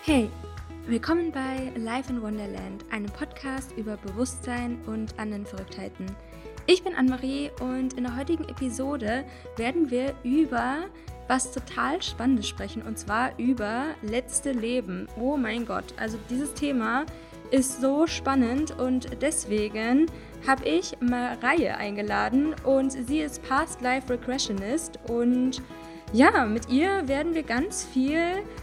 Hey, willkommen bei Life in Wonderland, einem Podcast über Bewusstsein und anderen Verrücktheiten. Ich bin Anne-Marie und in der heutigen Episode werden wir über was total Spannendes sprechen, und zwar über letzte Leben. Oh mein Gott, also dieses Thema ist so spannend und deswegen habe ich Mareie eingeladen und sie ist Past Life Regressionist und ja, mit ihr werden wir ganz viel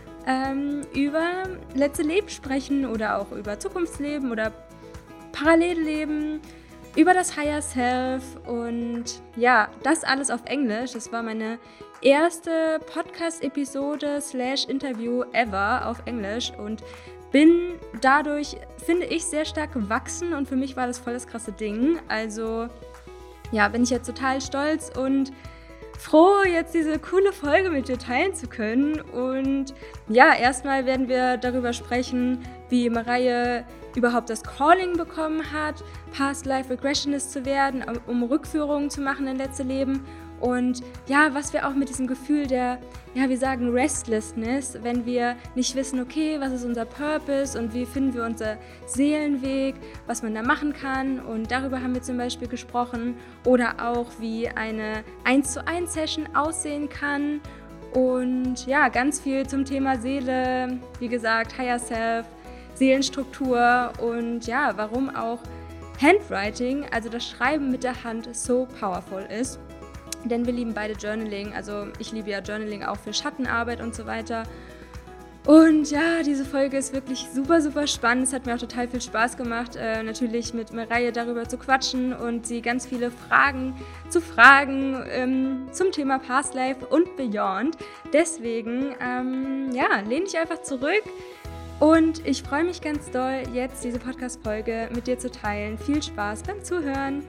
über letzte Leben sprechen oder auch über Zukunftsleben oder Parallelleben, über das Higher Self und ja, das alles auf Englisch. Das war meine erste Podcast-Episode / Interview ever auf Englisch und bin dadurch, finde ich, sehr stark gewachsen und für mich war das voll das krasse Ding. Also ja, bin ich jetzt total stolz und froh, jetzt diese coole Folge mit dir teilen zu können. Und ja, erstmal werden wir darüber sprechen, wie Mareie überhaupt das Calling bekommen hat, Past Life Regressionist zu werden, um Rückführungen zu machen in letzte Leben. Und ja, was wir auch mit diesem Gefühl der, ja, wir sagen Restlessness, wenn wir nicht wissen, okay, was ist unser Purpose und wie finden wir unser Seelenweg, was man da machen kann. Und darüber haben wir zum Beispiel gesprochen. Oder auch, wie eine 1:1 Session aussehen kann. Und ja, ganz viel zum Thema Seele, wie gesagt, Higher Self, Seelenstruktur und ja, warum auch Handwriting, also das Schreiben mit der Hand, so powerful ist. Denn wir lieben beide Journaling, also ich liebe ja Journaling auch für Schattenarbeit und so weiter. Und ja, diese Folge ist wirklich super, super spannend. Es hat mir auch total viel Spaß gemacht, natürlich mit Mareie darüber zu quatschen und sie ganz viele Fragen zu fragen zum Thema Past Life und Beyond. Deswegen, ja, lehne ich einfach zurück und ich freue mich ganz doll, jetzt diese Podcast-Folge mit dir zu teilen. Viel Spaß beim Zuhören!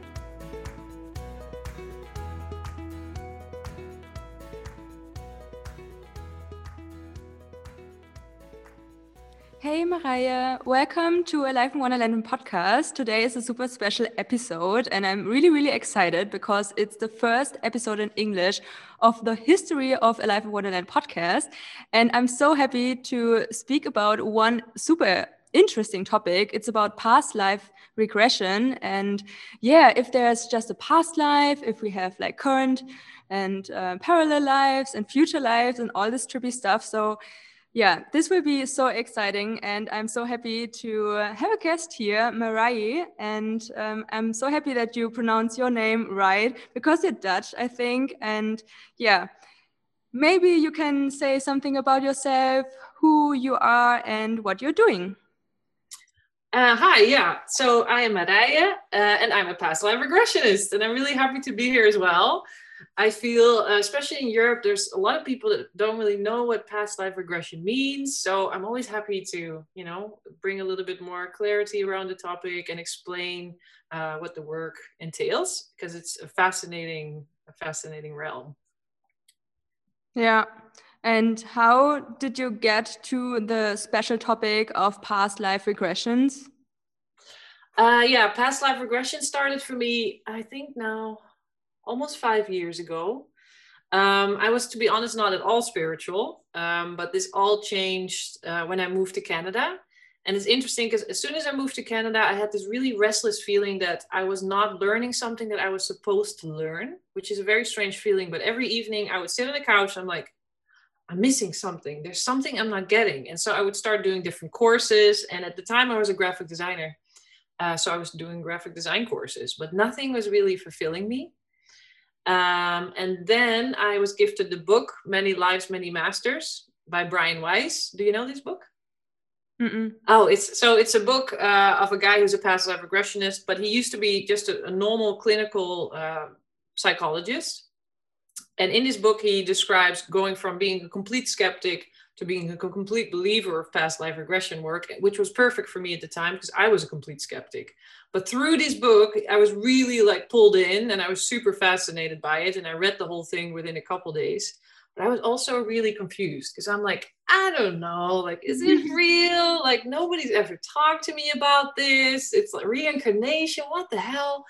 Hey Mareie, welcome to A Life in Wonderland podcast. Today is a super special episode and I'm really, really excited because it's the first episode in English of the history of A Life in Wonderland podcast. And I'm so happy to speak about one super interesting topic. It's about past life regression. And yeah, if there's just a past life, if we have like current and parallel lives and future lives and all this trippy stuff. So yeah, this will be so exciting, and I'm so happy to have a guest here, Mareie, and I'm so happy that you pronounce your name right, because you're Dutch, I think, and yeah, maybe you can say something about yourself, who you are, and what you're doing. Hi, yeah, so I am Mareie, and I'm a past life regressionist, and I'm really happy to be here as well. I feel, especially in Europe, there's a lot of people that don't really know what past life regression means. So I'm always happy to, bring a little bit more clarity around the topic and explain what the work entails, because it's a fascinating realm. Yeah. And how did you get to the special topic of past life regressions? Yeah, past life regression started for me, I think now, almost 5 years ago. I was, to be honest, not at all spiritual, but this all changed when I moved to Canada. And it's interesting because as soon as I moved to Canada, I had this really restless feeling that I was not learning something that I was supposed to learn, which is a very strange feeling. But every evening I would sit on the couch, I'm like, I'm missing something. There's something I'm not getting. And so I would start doing different courses. And at the time I was a graphic designer. So I was doing graphic design courses, but nothing was really fulfilling me. And then I was gifted the book, Many Lives, Many Masters by Brian Weiss. Do you know this book? Mm-mm. Oh, it's a book of a guy who's a past life regressionist, but he used to be just a normal clinical psychologist. And in this book, he describes going from being a complete skeptic to being a complete believer of past life regression work, which was perfect for me at the time because I was a complete skeptic. But through this book, I was really like pulled in and I was super fascinated by it. And I read the whole thing within a couple days. But I was also really confused because I'm like, I don't know, like, is it real? Like, nobody's ever talked to me about this. It's like reincarnation. What the hell?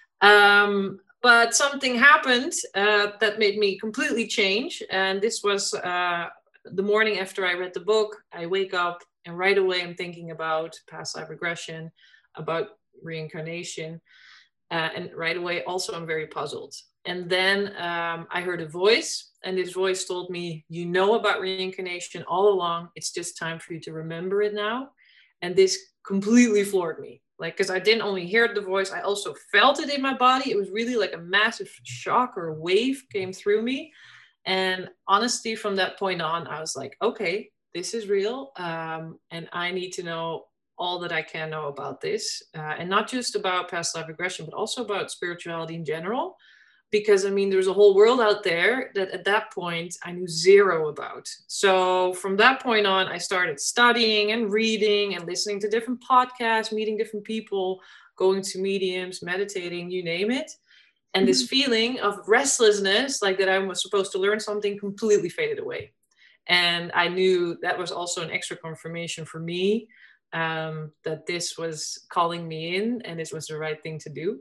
But something happened that made me completely change. And this was the morning after I read the book. I wake up And right away, I'm thinking about past life regression, about reincarnation. And right away, also, I'm very puzzled. And then I heard a voice, and this voice told me, you know about reincarnation all along. It's just time for you to remember it now. And this completely floored me. Like, because I didn't only hear the voice, I also felt it in my body. It was really like a massive shock or a wave came through me. And honestly, from that point on, I was like, okay, this is real. And I need to know all that I can know about this. And not just about past life regression, but also about spirituality in general. Because I mean, there's a whole world out there that at that point I knew zero about. So from that point on, I started studying and reading and listening to different podcasts, meeting different people, going to mediums, meditating, you name it. And this feeling of restlessness, like that I was supposed to learn something, completely faded away. And I knew that was also an extra confirmation for me, that this was calling me in and this was the right thing to do.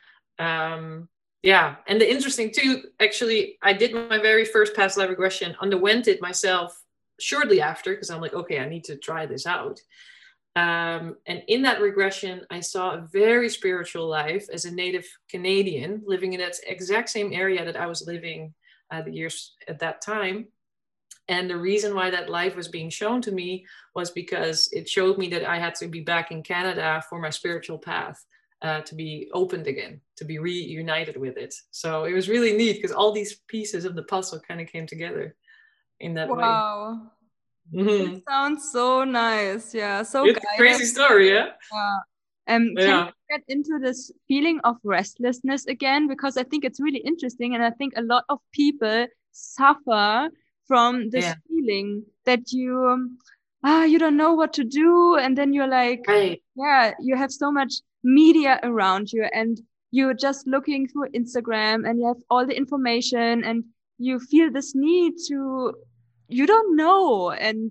Yeah. And the interesting too, actually, I did my very first past life regression, underwent it myself shortly after, because I'm like, okay, I need to try this out. And in that regression, I saw a very spiritual life as a native Canadian living in that exact same area that I was living the years at that time. And the reason why that life was being shown to me was because it showed me that I had to be back in Canada for my spiritual path to be opened again, to be reunited with it. So it was really neat because all these pieces of the puzzle kind of came together in that way. Wow. It sounds so nice. Yeah, so it's a crazy story, yeah? Can you get into this feeling of restlessness again? Because I think it's really interesting, and I think a lot of people suffer from this feeling that you don't know what to do, and then you're like, you have so much media around you, and you're just looking through Instagram, and you have all the information, and you feel this need to, you don't know. And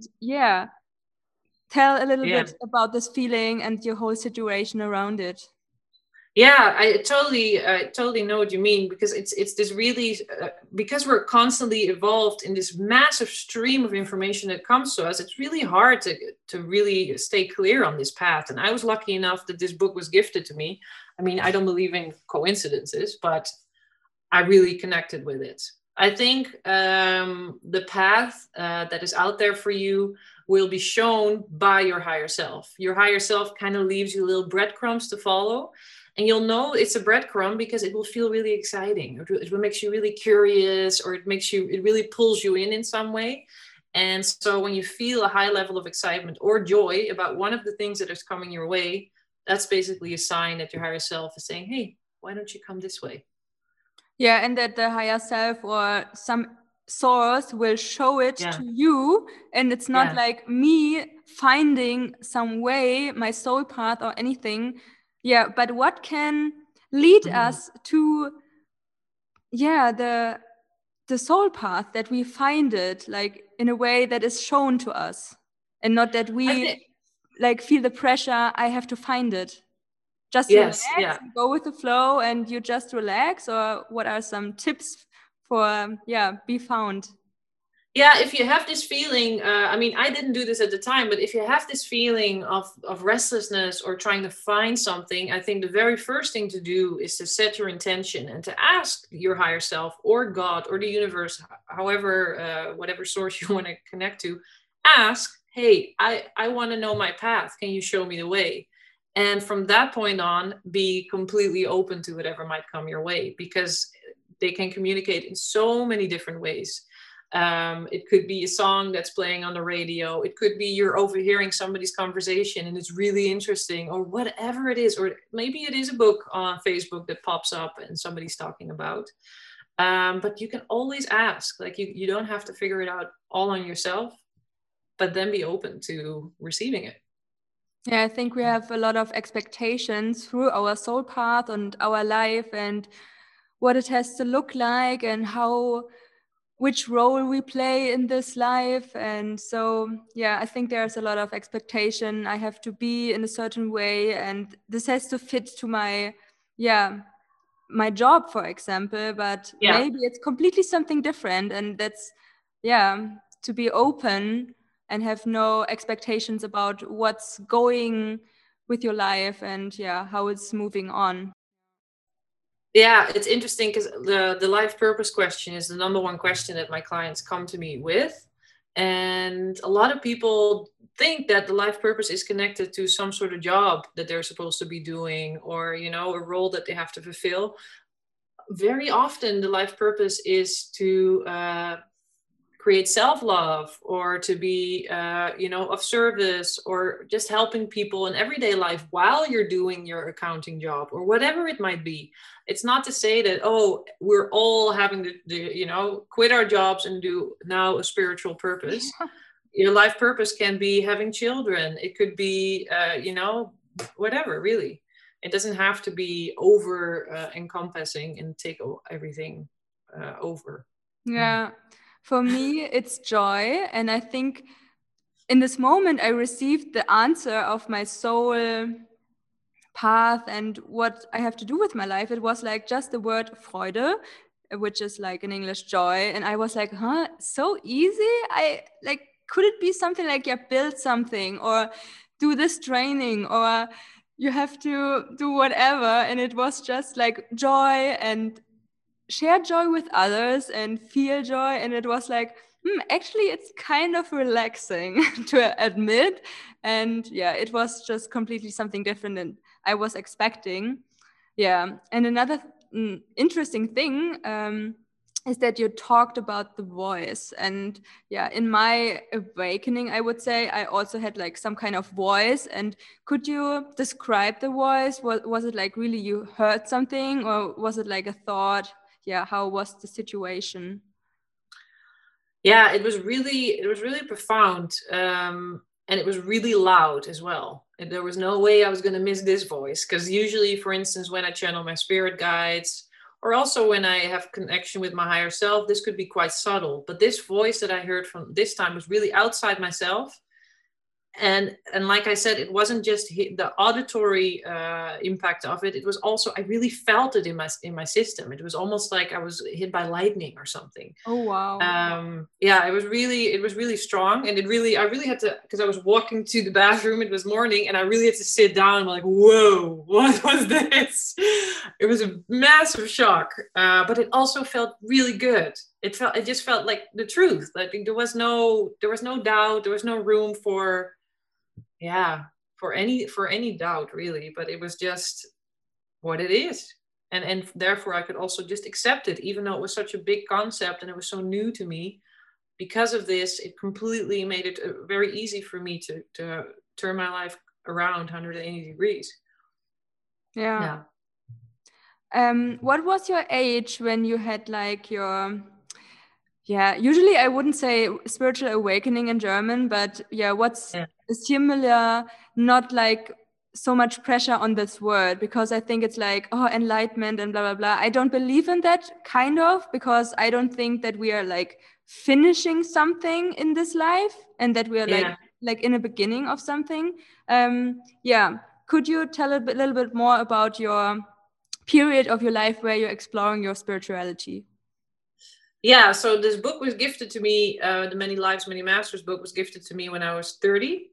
tell a little bit about this feeling and your whole situation around it. Yeah, I totally know what you mean, because it's this really, because we're constantly evolved in this massive stream of information that comes to us, it's really hard to really stay clear on this path. And I was lucky enough that this book was gifted to me. I mean, I don't believe in coincidences, but I really connected with it. I think the path that is out there for you will be shown by your higher self. Your higher self kind of leaves you little breadcrumbs to follow. And you'll know it's a breadcrumb because it will feel really exciting. It will make you really curious, or it really pulls you in some way. And so when you feel a high level of excitement or joy about one of the things that is coming your way, that's basically a sign that your higher self is saying, hey, why don't you come this way? Yeah, and that the higher self or some source will show it to you. And it's not like me finding some way, my soul path or anything. Yeah, but what can lead us to, the soul path, that we find it like in a way that is shown to us, and not that we like feel the pressure, I have to find it. Just relax, go with the flow, and you just relax. Or what are some tips for be found? Yeah, if you have this feeling, I mean, I didn't do this at the time, but if you have this feeling of restlessness or trying to find something, I think the very first thing to do is to set your intention and to ask your higher self or God or the universe, however, whatever source you want to connect to, ask, hey, I want to know my path. Can you show me the way? And from that point on, be completely open to whatever might come your way, because they can communicate in so many different ways. It could be a song that's playing on the radio. It could be you're overhearing somebody's conversation and it's really interesting, or whatever it is. Or maybe it is a book on Facebook that pops up and somebody's talking about. But you can always ask. Like you don't have to figure it out all on yourself, but then be open to receiving it. Yeah, I think we have a lot of expectations through our soul path and our life, and what it has to look like, and which role we play in this life. And so, I think there's a lot of expectation. I have to be in a certain way, and this has to fit to my job, for example, but maybe it's completely something different. And that's, to be open and have no expectations about what's going with your life and how it's moving on. Yeah, it's interesting because the life purpose question is the number one question that my clients come to me with. And a lot of people think that the life purpose is connected to some sort of job that they're supposed to be doing, or, you know, a role that they have to fulfill. Very often the life purpose is to create self-love, or to be of service, or just helping people in everyday life while you're doing your accounting job, or whatever it might be. It's not to say that, oh, we're all having to quit our jobs and do now a spiritual purpose. Your life purpose can be having children. It could be whatever, really. It doesn't have to be over encompassing and take everything over. Yeah. For me, it's joy. And I think in this moment, I received the answer of my soul path and what I have to do with my life. It was like just the word Freude, which is like in English joy. And I was like, huh, so easy? Could it be something like, build something or do this training, or you have to do whatever? And it was just like joy and share joy with others and feel joy. And it was like, actually, it's kind of relaxing to admit. And it was just completely something different than I was expecting. Yeah. And another interesting thing is that you talked about the voice. And in my awakening, I would say I also had like some kind of voice. And could you describe the voice? Was it like really you heard something, or was it like a thought? How was the situation? Yeah, it was really profound, and it was really loud as well. And there was no way I was going to miss this voice, because usually, for instance, when I channel my spirit guides, or also when I have connection with my higher self, this could be quite subtle. But this voice that I heard from this time was really outside myself. And like I said, it wasn't just the auditory impact of it. It was also, I really felt it in my system. It was almost like I was hit by lightning or something. Oh wow! It was really strong, and I really had to, because I was walking to the bathroom. It was morning, and I really had to sit down. I'm like, whoa, what was this? It was a massive shock, but it also felt really good. It just felt like the truth. Like there was no doubt. There was no room for any doubt, really. But it was just what it is. And therefore I could also just accept it, even though it was such a big concept and it was so new to me. Because of this, it completely made it very easy for me to turn my life around 180 degrees. Yeah. What was your age when you had like your usually I wouldn't say spiritual awakening in German, but what's similar, not like so much pressure on this word, because I think it's like, oh, enlightenment and blah, blah, blah. I don't believe in that kind of, because I don't think that we are like finishing something in this life and that we are like in the beginning of something. Could you tell a little bit more about your period of your life where you're exploring your spirituality? Yeah, so this book was gifted to me, the Many Lives, Many Masters book was gifted to me when I was 30.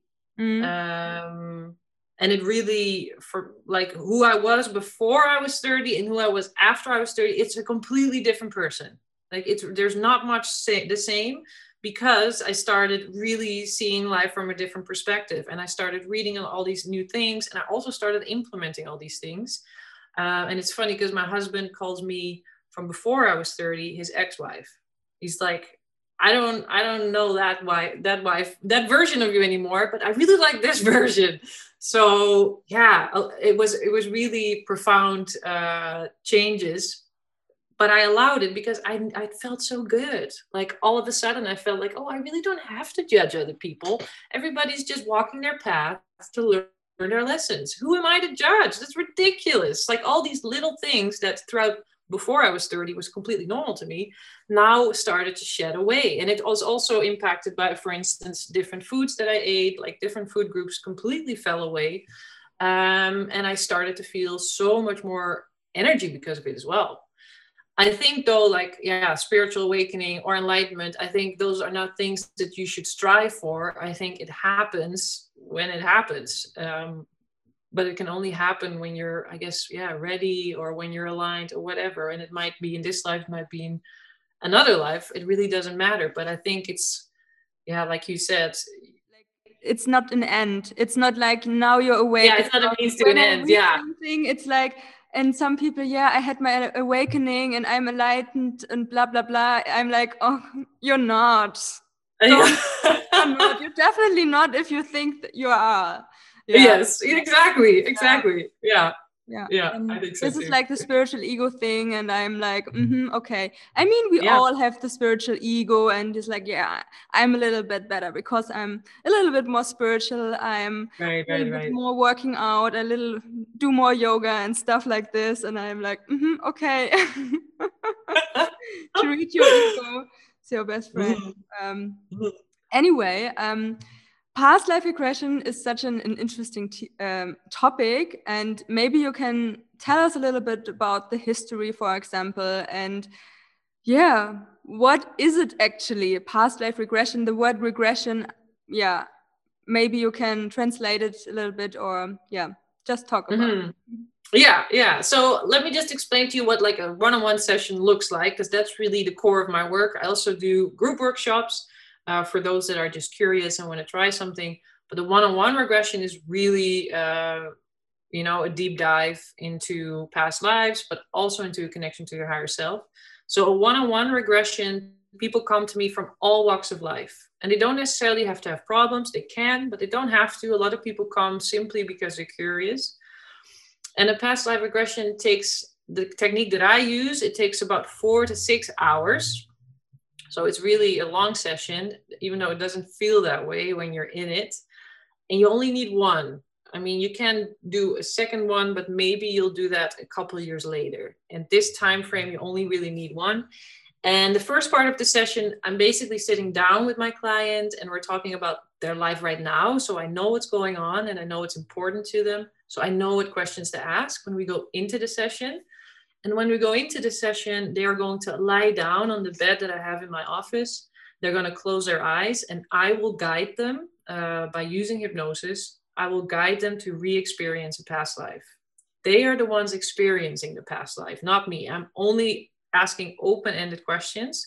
And it really, for like who I was before I was 30 and who I was after I was 30, it's a completely different person. Like there's not much the same, because I started really seeing life from a different perspective, and I started reading all these new things, and I also started implementing all these things. And it's funny because my husband calls me, from before I was 30, his ex-wife. He's like, I don't know that version of you anymore, but I really like this version. So it was really profound changes, but I allowed it because I felt so good. Like all of a sudden I felt like, oh, I really don't have to judge other people. Everybody's just walking their path to learn their lessons. Who am I to judge? That's ridiculous. Like all these little things that throughout before I was 30 was completely normal to me, now started to shed away. And it was also impacted by, for instance, different foods that I ate, like different food groups completely fell away. And I started to feel so much more energy because of it as well. I think though, like, yeah, spiritual awakening or enlightenment, I think those are not things that you should strive for. I think it happens when it happens. But it can only happen when you're, I guess, yeah, ready, or when you're aligned or whatever. And it might be in this life, it might be in another life. It really doesn't matter. But I think it's, yeah, like you said, it's not an end. It's not like now you're awake. Yeah, it's not a means to an end. Yeah. Something, it's like, and some people, yeah, I had my awakening and I'm enlightened and blah, blah, blah. I'm like, oh, you're not. You're not. You're definitely not if you think that you are. Yeah. Yes, exactly. Yeah. I think so this too. Is like the spiritual ego thing, and I'm like, okay. I mean, we all have the spiritual ego, and it's like, yeah, I'm a little bit better because I'm a little bit more spiritual. I'm a little bit more working out, do more yoga and stuff like this, and I'm like, okay. Treat your ego, it's your best friend. Anyway, past life regression is such an interesting topic, and maybe you can tell us a little bit about the history, for example, and what is it actually, past life regression? The word regression, maybe you can translate it a little bit, or just talk about it. Yeah. So let me just explain to you what like a one-on-one session looks like, because that's really the core of my work. I also do group workshops for those that are just curious and want to try something. But the one-on-one regression is really, a deep dive into past lives, but also into a connection to your higher self. So a one-on-one regression, people come to me from all walks of life. And they don't necessarily have to have problems. They can, but they don't have to. A lot of people come simply because they're curious. And a past life regression takes, the technique that I use, it takes about 4 to 6 hours. So it's really a long session, even though it doesn't feel that way when you're in it. And you only need one. I mean, you can do a second one, but maybe you'll do that a couple of years later. And this time frame, you only really need one. And the first part of the session, I'm basically sitting down with my client and we're talking about their life right now. So I know what's going on and I know it's important to them. So I know what questions to ask when we go into the session. And when we go into the session, they are going to lie down on the bed that I have in my office. They're going to close their eyes and I will guide them by using hypnosis. I will guide them to re-experience a past life. They are the ones experiencing the past life, not me. I'm only asking open-ended questions.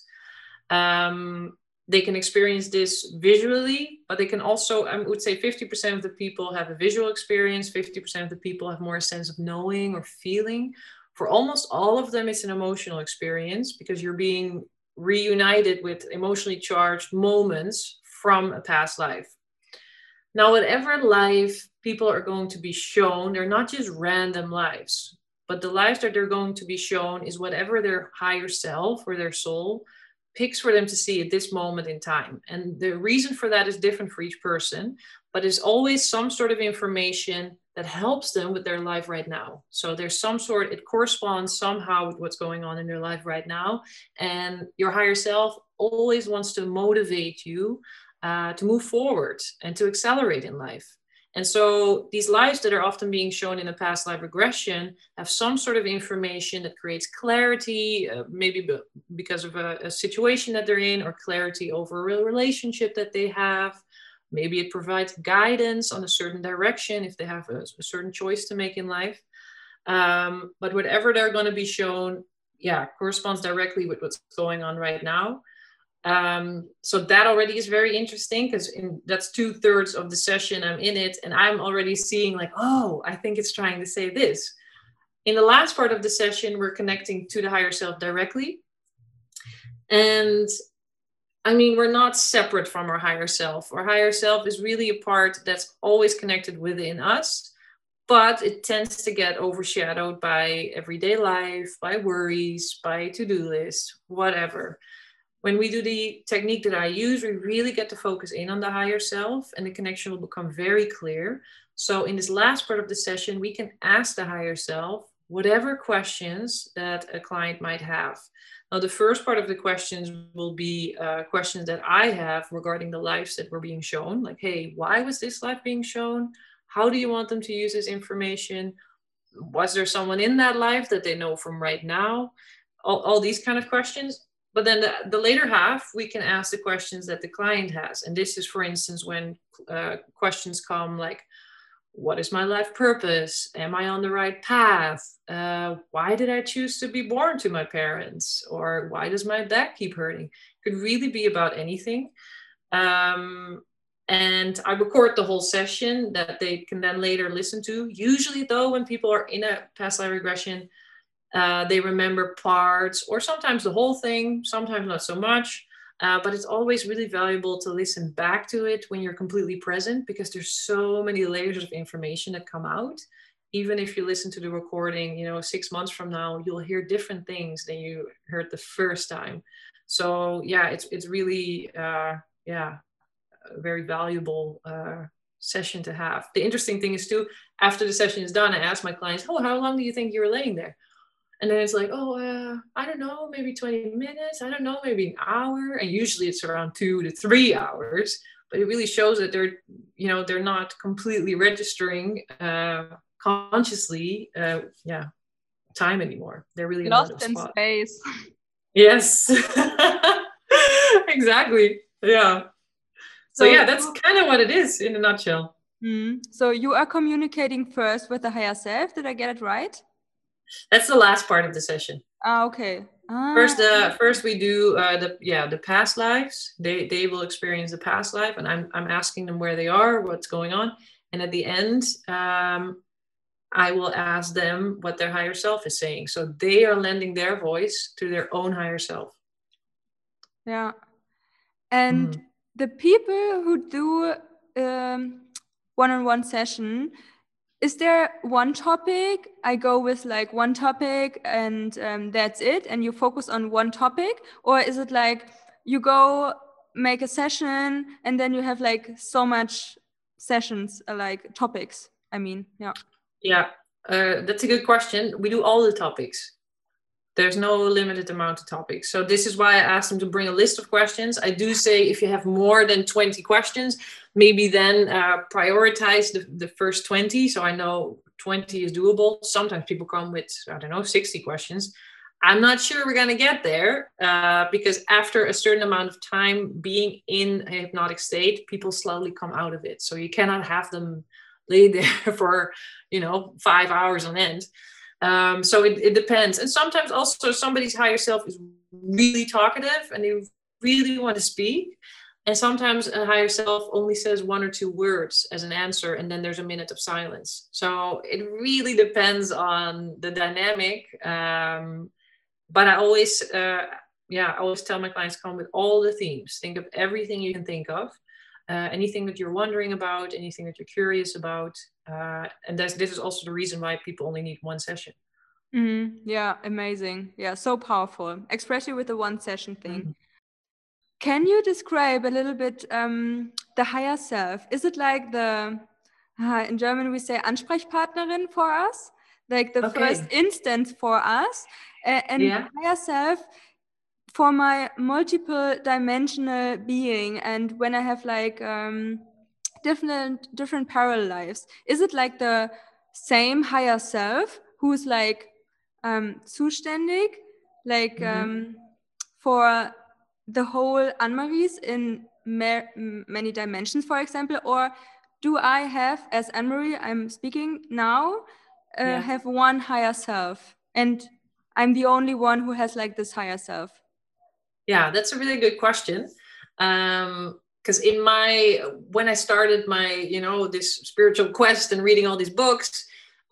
They can experience this visually, but they can also, I would say 50% of the people have a visual experience, 50% of the people have more a sense of knowing or feeling. For almost all of them, it's an emotional experience because you're being reunited with emotionally charged moments from a past life. Now, whatever life people are going to be shown, they're not just random lives, but the lives that they're going to be shown is whatever their higher self or their soul picks for them to see at this moment in time. And the reason for that is different for each person, but there's always some sort of information that helps them with their life right now. So there's some sort, it corresponds somehow with what's going on in their life right now. And your higher self always wants to motivate you to move forward and to accelerate in life. And so these lives that are often being shown in a past life regression have some sort of information that creates clarity, maybe because of a situation that they're in, or clarity over a relationship that they have. Maybe it provides guidance on a certain direction if they have a certain choice to make in life. But whatever they're going to be shown, corresponds directly with what's going on right now. So that already is very interesting because that's 2/3 of the session I'm in it, and I'm already seeing like, oh, I think it's trying to say this. In the last part of the session, we're connecting to the higher self directly. And I mean, we're not separate from our higher self. Our higher self is really a part that's always connected within us, but it tends to get overshadowed by everyday life, by worries, by to-do lists, whatever. When we do the technique that I use, we really get to focus in on the higher self and the connection will become very clear. So in this last part of the session, we can ask the higher self whatever questions that a client might have. Now, the first part of the questions will be questions that I have regarding the lives that were being shown. Like, hey, why was this life being shown? How do you want them to use this information? Was there someone in that life that they know from right now? all these kind of questions. But then the later half, we can ask the questions that the client has. And this is, for instance, when questions come like, what is my life purpose? Am I on the right path? Why did I choose to be born to my parents? Or why does my back keep hurting? It could really be about anything. And I record the whole session that they can then later listen to. Usually, though, when people are in a past life regression, they remember parts or sometimes the whole thing, sometimes not so much. But it's always really valuable to listen back to it when you're completely present, because there's so many layers of information that come out. Even if you listen to the recording, 6 months from now, you'll hear different things than you heard the first time. So yeah, it's really, a very valuable session to have. The interesting thing is too, after the session is done, I ask my clients, how long do you think you were laying there? And then it's like, I don't know, maybe 20 minutes. I don't know, maybe an hour. And usually it's around 2 to 3 hours. But it really shows that they're not completely registering consciously, time anymore. They're really lost in space. Yes, exactly. Yeah. So yeah, that's kind of what it is in a nutshell. So you are communicating first with the higher self. Did I get it right? That's the last part of the session. Okay. First we do the past lives. They will experience the past life, and I'm asking them where they are, what's going on, and at the end, I will ask them what their higher self is saying. So they are lending their voice to their own higher self. Yeah, and the people who do one-on-one session. Is there one topic? I go with like one topic and that's it, and you focus on one topic? Or is it like you go make a session and then you have like so much sessions, like topics? I mean, yeah. Yeah, that's a good question. We do all the topics. There's no limited amount of topics. So this is why I asked them to bring a list of questions. I do say if you have more than 20 questions, maybe then prioritize the first 20. So I know 20 is doable. Sometimes people come with, 60 questions. I'm not sure we're going to get there because after a certain amount of time being in a hypnotic state, people slowly come out of it. So you cannot have them lay there for, 5 hours on end. So it depends. And sometimes also somebody's higher self is really talkative and they really want to speak. And sometimes a higher self only says 1 or 2 words as an answer, and then there's a minute of silence. So it really depends on the dynamic. But I always, I always tell my clients, come with all the themes. Think of everything you can think of. Anything that you're wondering about, anything that you're curious about. And this is also the reason why people only need 1 session. Yeah, amazing. Yeah, so powerful, especially with the 1 session thing. Can you describe a little bit the higher self? Is it like in German we say Ansprechpartnerin for us? Like the first instance for us? And higher self for my multiple dimensional being, and when I have like different parallel lives, is it like the same higher self who's like zuständig, like for the whole Anne-Marie's in many dimensions, for example? Or do I have, as Anne-Marie I'm speaking now, have one higher self, and I'm the only one who has like this higher self? Yeah, that's a really good question. Because when I started my, this spiritual quest and reading all these books,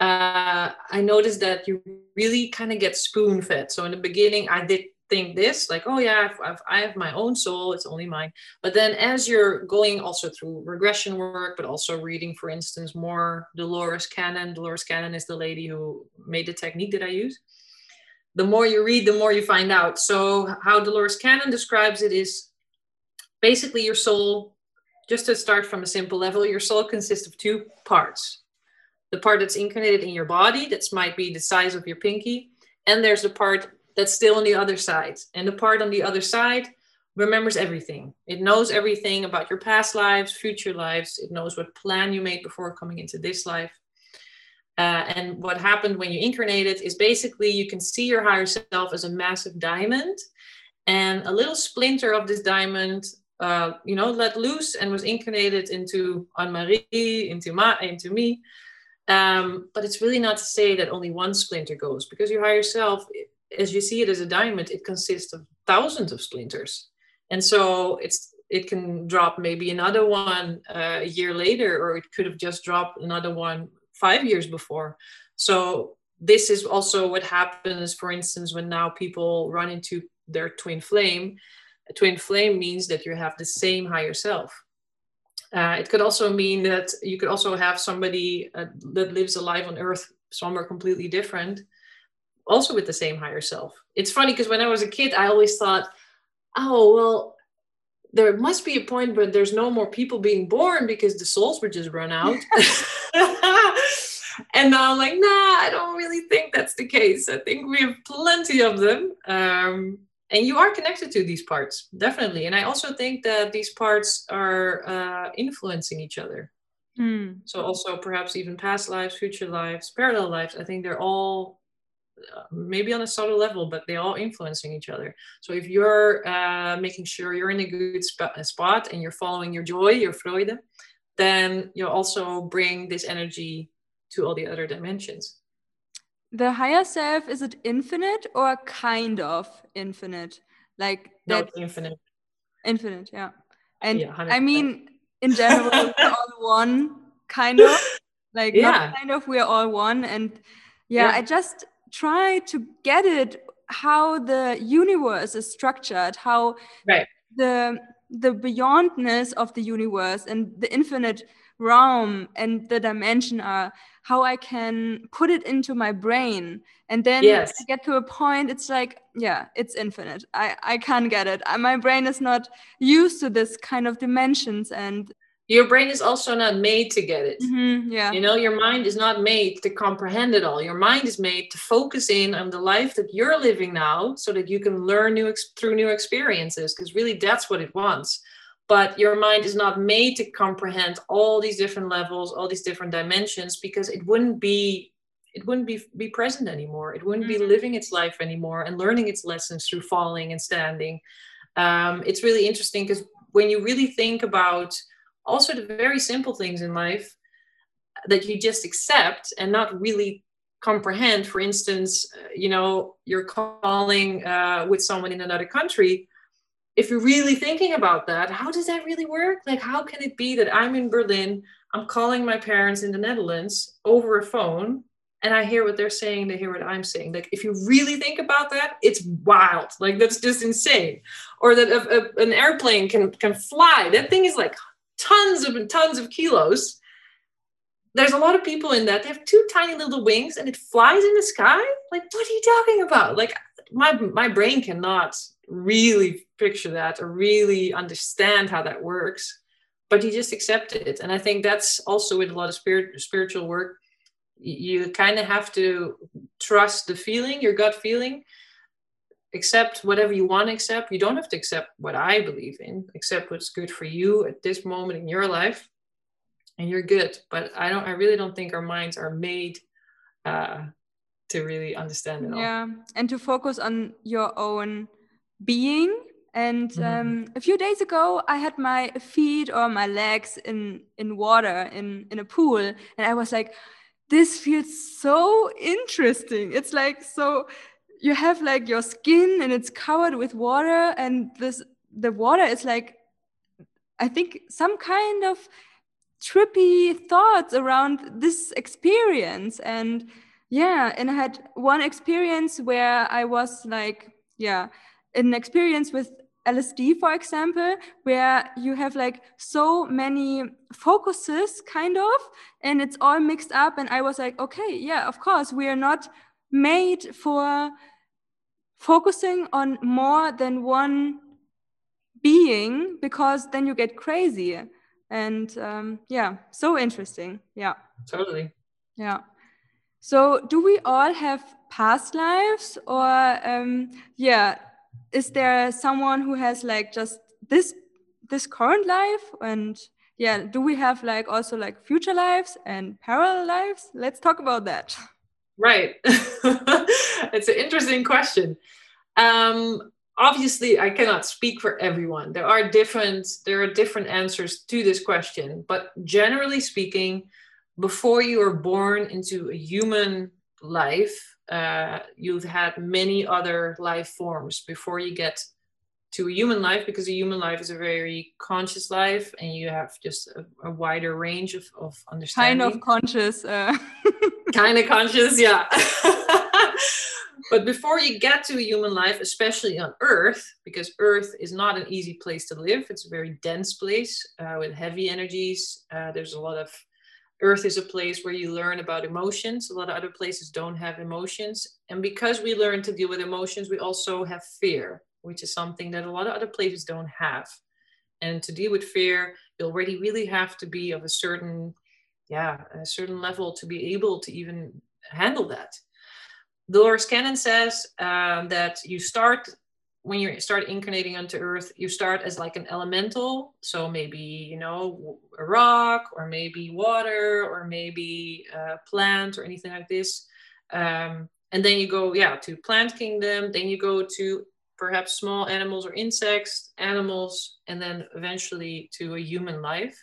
I noticed that you really kind of get spoon-fed. So in the beginning, I did think this, like, oh yeah, I have my own soul, it's only mine. But then as you're going also through regression work, but also reading, for instance, more Dolores Cannon. Dolores Cannon is the lady who made the technique that I use. The more you read, the more you find out. So how Dolores Cannon describes it is basically your soul, just to start from a simple level, your soul consists of 2 parts. The part that's incarnated in your body, that might be the size of your pinky. And there's the part that's still on the other side. And the part on the other side remembers everything. It knows everything about your past lives, future lives. It knows what plan you made before coming into this life. And what happened when you incarnated is basically you can see your higher self as a massive diamond, and a little splinter of this diamond, let loose and was incarnated into Anne-Marie, into me. But it's really not to say that only one splinter goes, because your higher self, as you see it as a diamond, it consists of thousands of splinters. And so it can drop maybe another one a year later, or it could have just dropped another one 5 years before. So this is also what happens, for instance, when now people run into their twin flame. A twin flame means that you have the same higher self. It could also mean that you could also have somebody that lives alive on Earth somewhere completely different, also with the same higher self. It's funny because when I was a kid, I always thought, oh, well, there must be a point where there's no more people being born because the souls would just run out. And now I'm like, nah, I don't really think that's the case. I think we have plenty of them. And you are connected to these parts, definitely. And I also think that these parts are influencing each other. So also perhaps even past lives, future lives, parallel lives. I think they're all maybe on a subtle level, but they're all influencing each other. So if you're making sure you're in a good spot and you're following your joy, your Freude, then you'll also bring this energy to all the other dimensions. The higher self, is it infinite or kind of infinite? Like no, it's infinite. Infinite, yeah. And yeah, I mean, in general, we're all one, kind of. Like, not kind of, we're all one. And I just try to get it, how the universe is structured, how the beyondness of the universe and the infinite realm and the dimension are, how I can put it into my brain. And then I get to a point, it's like, it's infinite. I can't get it. My brain is not used to this kind of dimensions. And your brain is also not made to get it. You know, your mind is not made to comprehend it all. Your mind is made to focus in on the life that you're living now, so that you can learn through new experiences, because really that's what it wants. But your mind is not made to comprehend all these different levels, all these different dimensions, because it wouldn't be present anymore. It wouldn't be living its life anymore and learning its lessons through falling and standing. It's really interesting, because when you really think about also the very simple things in life that you just accept and not really comprehend, for instance, you're calling with someone in another country. If you're really thinking about that, how does that really work? Like, how can it be that I'm in Berlin, I'm calling my parents in the Netherlands over a phone, and I hear what they're saying, they hear what I'm saying? Like, if you really think about that, it's wild. Like, that's just insane. Or that an airplane can fly. That thing is like tons of kilos. There's a lot of people in that. They have 2 tiny little wings and it flies in the sky. Like, what are you talking about? Like, my brain cannot really picture that or really understand how that works, but you just accept it. And I think that's also with a lot of spiritual work. You kind of have to trust the feeling, your gut feeling, accept whatever you want to accept. You don't have to accept what I believe in, accept what's good for you at this moment in your life, and you're good. But I really don't think our minds are made to really understand it all. Yeah, and to focus on your own being. And a few days ago, I had my feet or my legs in water, in a pool, and I was like, this feels so interesting. It's like, so you have like your skin and it's covered with water, and the water is like, I think, some kind of trippy thoughts around this experience. And and I had one experience where I was like, an experience with LSD, for example, where you have like so many focuses kind of, and it's all mixed up. And I was like, okay, of course, we are not made for focusing on more than one being, because then you get crazy. And so interesting. Yeah, totally. Yeah. So do we all have past lives, or is there someone who has like just this current life? And yeah, do we have like also like future lives and parallel lives? Let's talk about that. Right. It's an interesting question. Obviously, I cannot speak for everyone. There are different answers to this question, but generally speaking, before you are born into a human life, you've had many other life forms before you get to a human life, because a human life is a very conscious life and you have just a wider range of understanding. Kind of conscious. Kind of conscious, yeah. But before you get to a human life, especially on Earth, because Earth is not an easy place to live, it's a very dense place with heavy energies. There's a lot of Earth is a place where you learn about emotions. A lot of other places don't have emotions. And because we learn to deal with emotions, we also have fear, which is something that a lot of other places don't have. And to deal with fear, you already really have to be of a certain level to be able to even handle that. Dolores Cannon says that when you start incarnating onto Earth, you start as like an elemental. So maybe, a rock, or maybe water, or maybe a plant, or anything like this. And then you go, to plant kingdom. Then you go to perhaps small animals or insects, animals, and then eventually to a human life.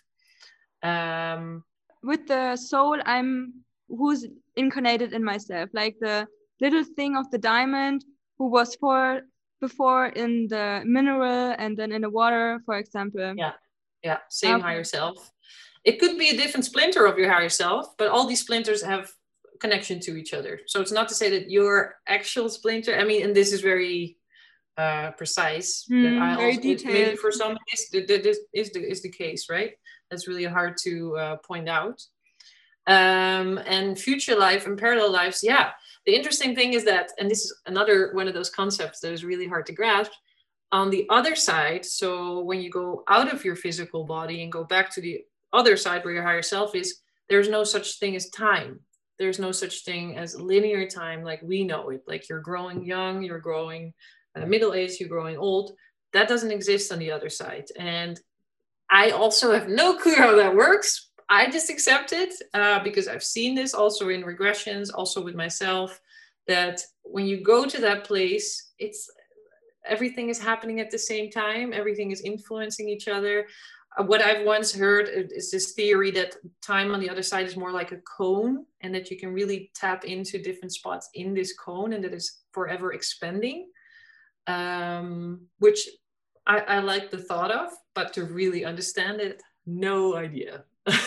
With the soul, who's incarnated in myself, like the little thing of the diamond who was before in the mineral and then in the water, for example. Same okay. Higher self. It could be a different splinter of your higher self, but all these splinters have connection to each other. So it's not to say that your actual splinter, and this is very precise, that I very also, detailed. maybe for some this is the case, right? That's really hard to point out. And future life and parallel lives, the interesting thing is that, and this is another one of those concepts that is really hard to grasp, on the other side, so when you go out of your physical body and go back to the other side where your higher self is, there's no such thing as time. There's no such thing as linear time like we know it. Like you're growing young, you're growing middle age, you're growing old. That doesn't exist on the other side. And I also have no clue how that works. I just accept it because I've seen this also in regressions, also with myself, that when you go to that place, everything is happening at the same time. Everything is influencing each other. What I've once heard is this theory that time on the other side is more like a cone, and that you can really tap into different spots in this cone, and that is forever expanding, which I like the thought of, but to really understand it, no idea.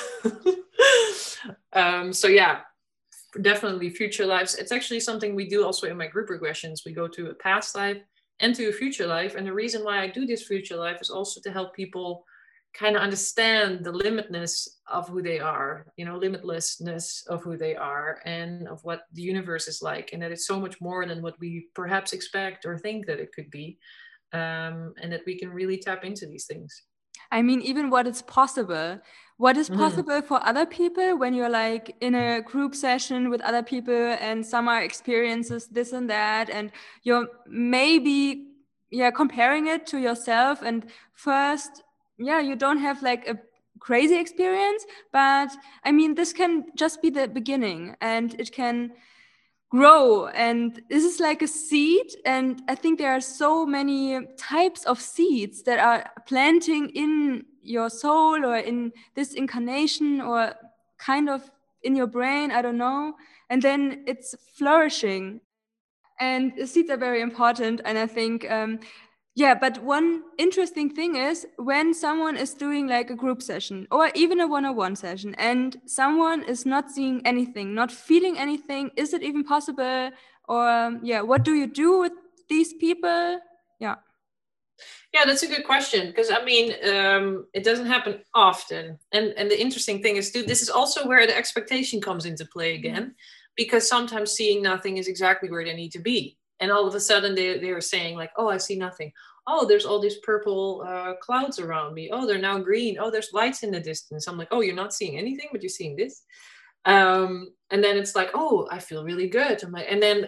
Definitely future lives. It's actually something we do also in my group regressions. We go to a past life and to a future life. And the reason why I do this future life is also to help people kind of understand the limitlessness of who they are, limitlessness of who they are and of what the universe is like. And that it's so much more than what we perhaps expect or think that it could be. And that we can really tap into these things. Even what is possible. What is possible for other people when you're like in a group session with other people and some are experiences this and that, and you're maybe comparing it to yourself, and first you don't have like a crazy experience, but this can just be the beginning and it can grow, and this is like a seed, and I think there are so many types of seeds that are planting in your soul or in this incarnation or kind of in your brain, I don't know, and then it's flourishing, and the seeds are very important. And I think but one interesting thing is when someone is doing like a group session or even a one-on-one session and someone is not seeing anything, not feeling anything, is it even possible? Or what do you do with these people? Yeah, that's a good question, because it doesn't happen often. And the interesting thing is, this is also where the expectation comes into play again, because sometimes seeing nothing is exactly where they need to be. And all of a sudden they were saying like, oh, I see nothing. Oh, there's all these purple clouds around me. Oh, they're now green. Oh, there's lights in the distance. I'm like, oh, you're not seeing anything, but you're seeing this. And then it's like, oh, I feel really good. I'm like, and then,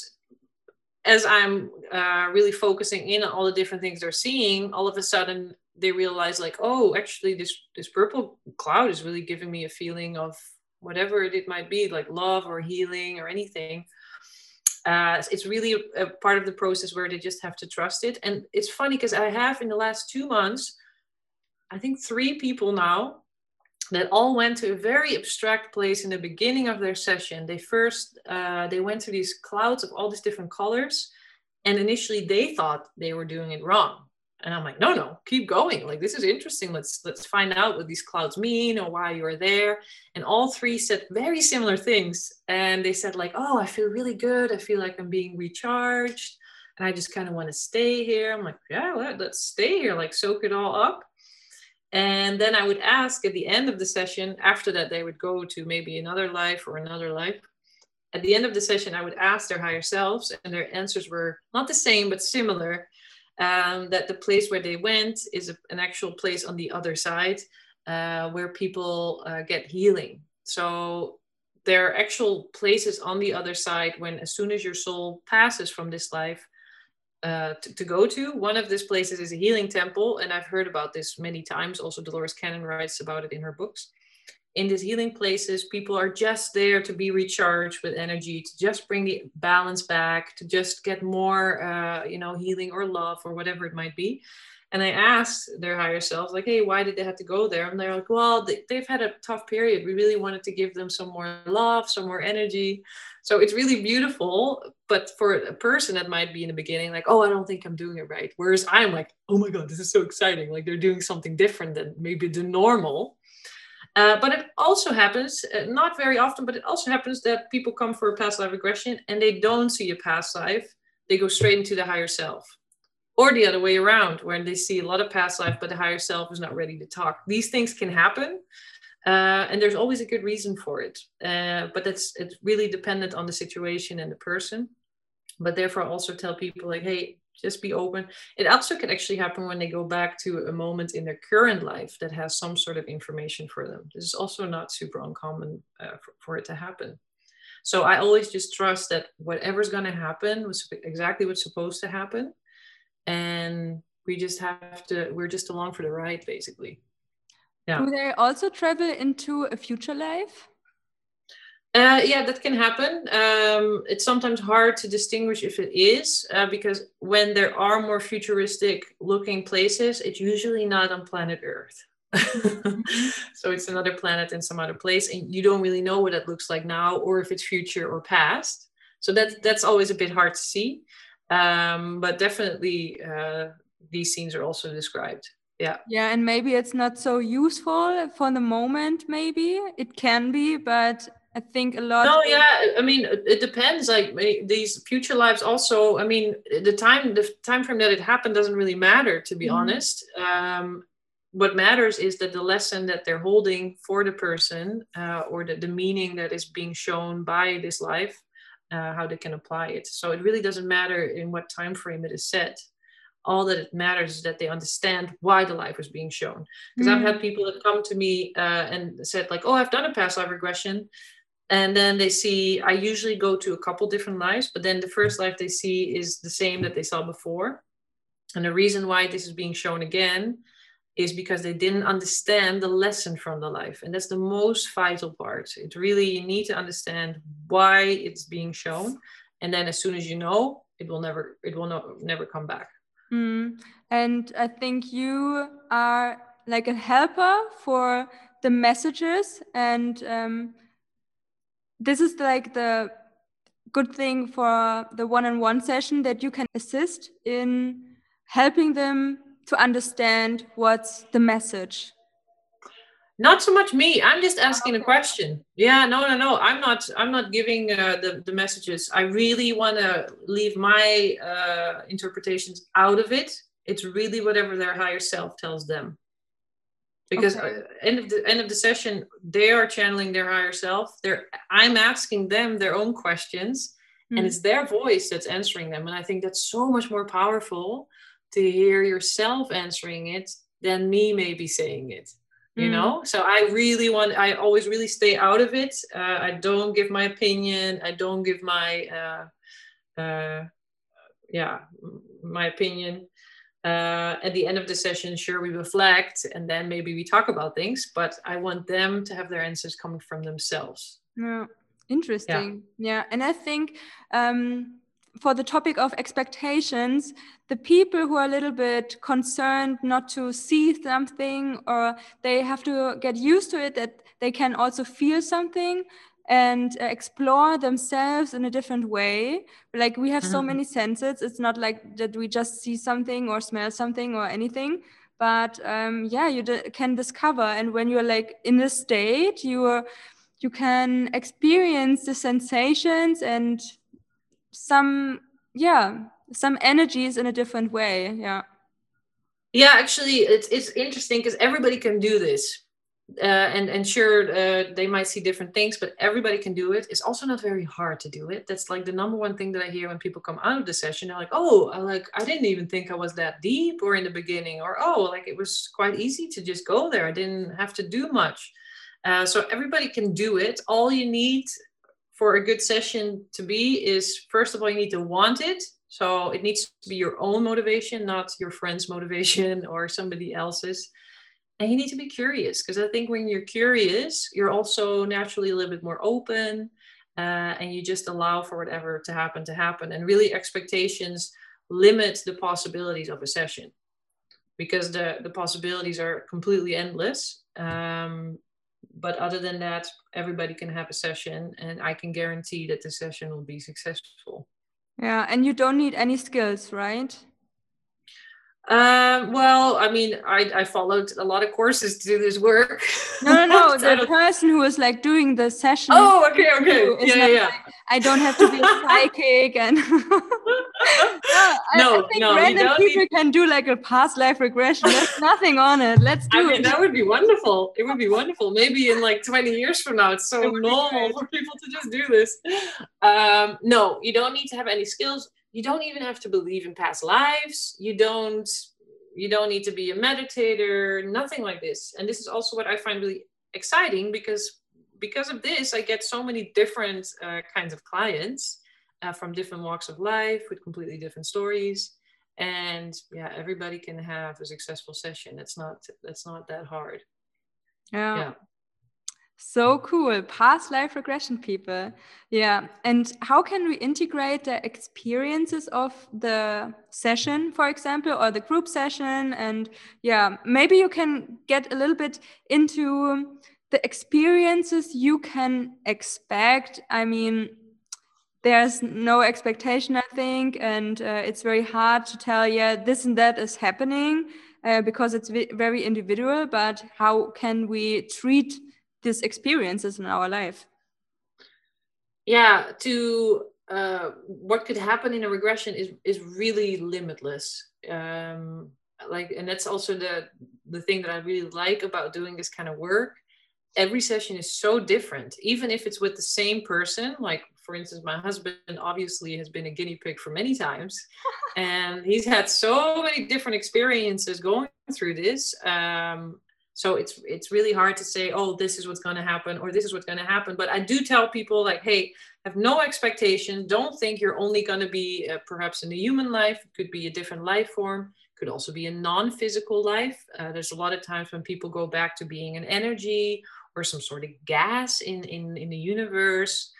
as I'm really focusing in on all the different things they're seeing, all of a sudden they realize like, oh, actually this purple cloud is really giving me a feeling of whatever it might be, like love or healing or anything. It's really a part of the process where they just have to trust it. And it's funny because I have in the last 2 months, I think 3 people now that all went to a very abstract place in the beginning of their session. They first, they went to these clouds of all these different colors. And initially they thought they were doing it wrong. And I'm like, no, keep going. Like, this is interesting. Let's find out what these clouds mean or why you are there. And all 3 said very similar things. And they said like, oh, I feel really good. I feel like I'm being recharged. And I just kind of want to stay here. I'm like, yeah, well, let's stay here, like soak it all up. And then I would ask at the end of the session, after that, they would go to maybe another life or another life. At the end of the session, I would ask their higher selves, and their answers were not the same, but similar. That the place where they went is an actual place on the other side where people get healing. So there are actual places on the other side when, as soon as your soul passes from this life, to go to. One of these places is a healing temple, and I've heard about this many times. Also, Dolores Cannon writes about it in her books. In these healing places, people are just there to be recharged with energy, to just bring the balance back, to just get more, healing or love or whatever it might be. And I asked their higher selves, like, hey, why did they have to go there? And they're like, well, they've had a tough period. We really wanted to give them some more love, some more energy. So it's really beautiful. But for a person that might be in the beginning, like, oh, I don't think I'm doing it right. Whereas I'm like, oh my God, this is so exciting. Like, they're doing something different than maybe the normal. But it also happens, not very often, but it also happens that people come for a past life regression and they don't see a past life. They go straight into the higher self. Or the other way around, where they see a lot of past life, but the higher self is not ready to talk. These things can happen. And there's always a good reason for it. But it's really dependent on the situation and the person. But therefore, I also tell people like, hey, just be open. It also can actually happen when they go back to a moment in their current life that has some sort of information for them. This is also not super uncommon for it to happen. So I always just trust that whatever's going to happen was exactly what's supposed to happen. And we're just along for the ride, basically. Yeah. Do they also travel into a future life? Yeah, that can happen. It's sometimes hard to distinguish if it is, because when there are more futuristic looking places, it's usually not on planet Earth. Mm-hmm. So it's another planet in some other place, and you don't really know what it looks like now, or if it's future or past. So that's always a bit hard to see. But definitely these scenes are also described. Yeah, and maybe it's not so useful for the moment. Maybe it can be, but I think a lot. No, yeah, I mean, it depends. Like these future lives also, I mean, the time frame that it happened doesn't really matter, to be honest. What matters is that the lesson that they're holding for the person, or the meaning that is being shown by this life, how they can apply it. So it really doesn't matter in what time frame it is set. All that it matters is that they understand why the life is being shown. Because I've had people that come to me and said like, oh, I've done a past life regression. And then they see, I usually go to a couple different lives, but then the first life they see is the same that they saw before. And the reason why this is being shown again is because they didn't understand the lesson from the life. And that's the most vital part. It really, you need to understand why it's being shown. And then as soon as you know, it will never come back. And I think you are like a helper for the messages, and this is like the good thing for the one-on-one session, that you can assist in helping them to understand what's the message. Not so much me. I'm just asking a question. Yeah, no. I'm not giving the messages. I really want to leave my interpretations out of it. It's really whatever their higher self tells them. Because end of the session, they are channeling their higher self. I'm asking them their own questions, and it's their voice that's answering them. And I think that's so much more powerful to hear yourself answering it than me maybe saying it. You know, so I always really stay out of it. I don't give my opinion. I don't give my opinion. At the end of the session, sure, we reflect and then maybe we talk about things, but I want them to have their answers coming from themselves. Yeah, interesting. Yeah, and I think for the topic of expectations, the people who are a little bit concerned not to see something, or they have to get used to it, that they can also feel something and explore themselves in a different way. Like we have so many senses. It's not like that we just see something or smell something or anything. But yeah, you can discover. And when you're like in the state, you can experience the sensations and some energies in a different way. Yeah, actually, it's interesting because everybody can do this. And sure, they might see different things, but everybody can do it. It's also not very hard to do it. That's like the number one thing that I hear when people come out of the session. They're like, oh, I didn't even think I was that deep, or in the beginning, or oh, like it was quite easy to just go there. I didn't have to do much. So everybody can do it. All you need for a good session to be is, first of all, you need to want it. So it needs to be your own motivation, not your friend's motivation or somebody else's. And you need to be curious, because I think when you're curious, you're also naturally a little bit more open, and you just allow for whatever to happen. And really, expectations limit the possibilities of a session, because the possibilities are completely endless. But other than that, everybody can have a session, and I can guarantee that the session will be successful. Yeah, and you don't need any skills, right? Well, I mean, I followed a lot of courses to do this work. No. The person who is like doing the session. Oh, okay. Yeah. Like, I don't have to be a psychic and. I think random people can do like a past life regression. There's nothing on it. Let's do it. That would be wonderful. It would be wonderful. Maybe in like 20 years from now, it's so normal for people to just do this. No, you don't need to have any skills. You don't even have to believe in past lives. You don't need to be a meditator, nothing like this. And this is also what I find really exciting, because of this, I get so many different kinds of clients from different walks of life with completely different stories. And yeah, everybody can have a successful session. That's not that hard. Yeah. So cool. Past life regression people. Yeah. And how can we integrate the experiences of the session, for example, or the group session? And yeah, maybe you can get a little bit into the experiences you can expect. I mean, there's no expectation, I think, and it's very hard to tell, this and that is happening because it's very individual. But how can we treat these experiences in our life? Yeah, what could happen in a regression is really limitless. And that's also the thing that I really like about doing this kind of work. Every session is so different, even if it's with the same person. Like, for instance, my husband obviously has been a guinea pig for many times, and he's had so many different experiences going through this. So it's really hard to say, oh, this is what's going to happen, or this is what's going to happen. But I do tell people, like, hey, have no expectation. Don't think you're only going to be perhaps in a human life. It could be a different life form. It could also be a non-physical life. There's a lot of times when people go back to being an energy or some sort of gas in the universe.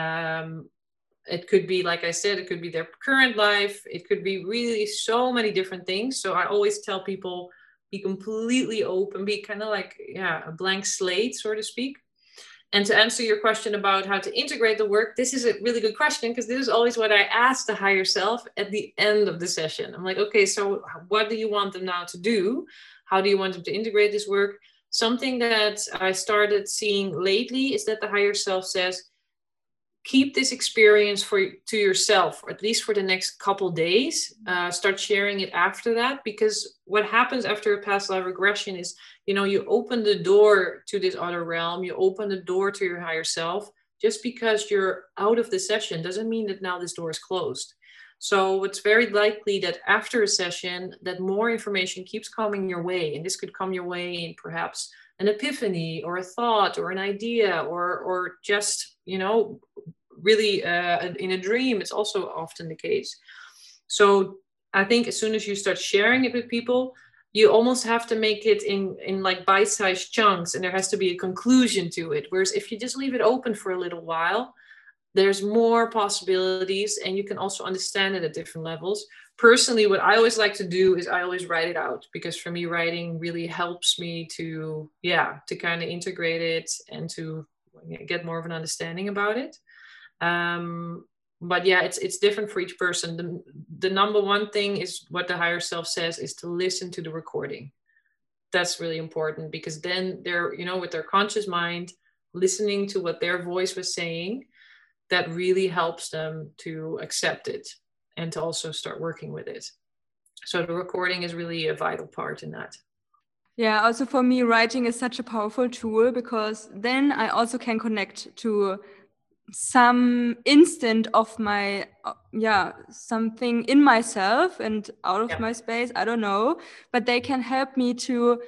It could be, like I said, it could be their current life. It could be really so many different things. So I always tell people, be completely open, be kind of like, a blank slate, so to speak. And to answer your question about how to integrate the work, this is a really good question, because this is always what I ask the higher self at the end of the session. I'm like, okay, so what do you want them now to do? How do you want them to integrate this work? Something that I started seeing lately is that the higher self says, keep this experience to yourself, or at least for the next couple days. Start sharing it after that, because what happens after a past life regression is, you open the door to this other realm, you open the door to your higher self. Just because you're out of the session doesn't mean that now this door is closed. So it's very likely that after a session, that more information keeps coming your way, and this could come your way in perhaps an epiphany or a thought or an idea, or just, really in a dream. It's also often the case. So I think as soon as you start sharing it with people, you almost have to make it in like bite-sized chunks, and there has to be a conclusion to it. Whereas if you just leave it open for a little while, there's more possibilities, and you can also understand it at different levels. Personally, what I always like to do is I always write it out, because for me, writing really helps me to kind of integrate it and to get more of an understanding about it. But yeah, it's different for each person. The number one thing is what the higher self says, is to listen to the recording. That's really important, because then they're, with their conscious mind, listening to what their voice was saying, that really helps them to accept it and to also start working with it. So the recording is really a vital part in that. Yeah, also for me, writing is such a powerful tool, because then I also can connect to some instant of my, something in myself and out of my space, I don't know, but they can help me to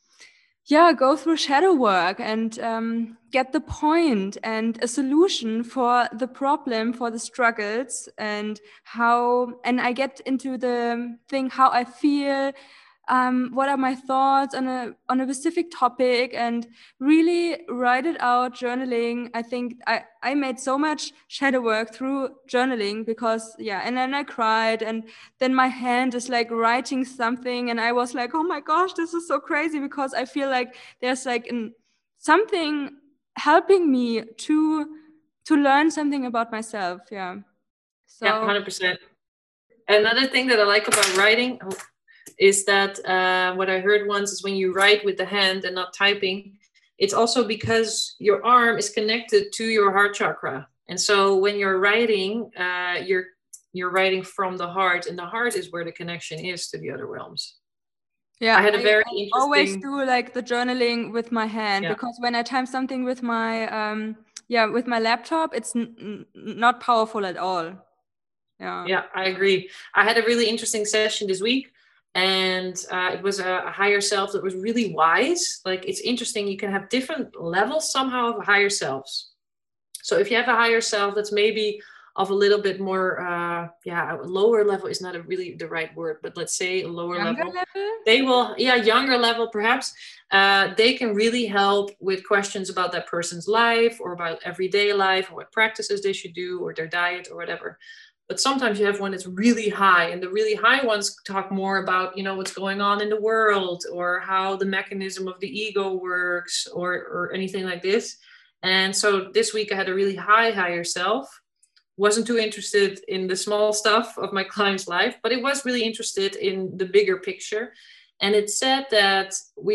go through shadow work and get the point and a solution for the problem, for the struggles, and I get into the thing, how I feel, what are my thoughts on a specific topic, and really write it out, journaling. I think I made so much shadow work through journaling, because and then I cried, and then my hand is like writing something, and I was like, oh my gosh, this is so crazy, because I feel like there's like something helping me to learn something about myself. So 100%. Another thing that I like about writing is that what I heard once is when you write with the hand and not typing, it's also because your arm is connected to your heart chakra. And so when you're writing, you're writing from the heart, and the heart is where the connection is to the other realms. Yeah, I had a very interesting... always do like the journaling with my hand, because when I type something with my with my laptop, it's not powerful at all. Yeah, I agree. I had a really interesting session this week, and it was a higher self that was really wise. Like, it's interesting, you can have different levels somehow of higher selves. So if you have a higher self that's maybe of a little bit more a lower level is not really the right word, but let's say a lower level, they will younger level perhaps, they can really help with questions about that person's life, or about everyday life, or what practices they should do, or their diet, or whatever. But sometimes you have one that's really high, and the really high ones talk more about, what's going on in the world, or how the mechanism of the ego works, or anything like this. And so this week I had a really higher self. Wasn't too interested in the small stuff of my client's life, but it was really interested in the bigger picture. And it said that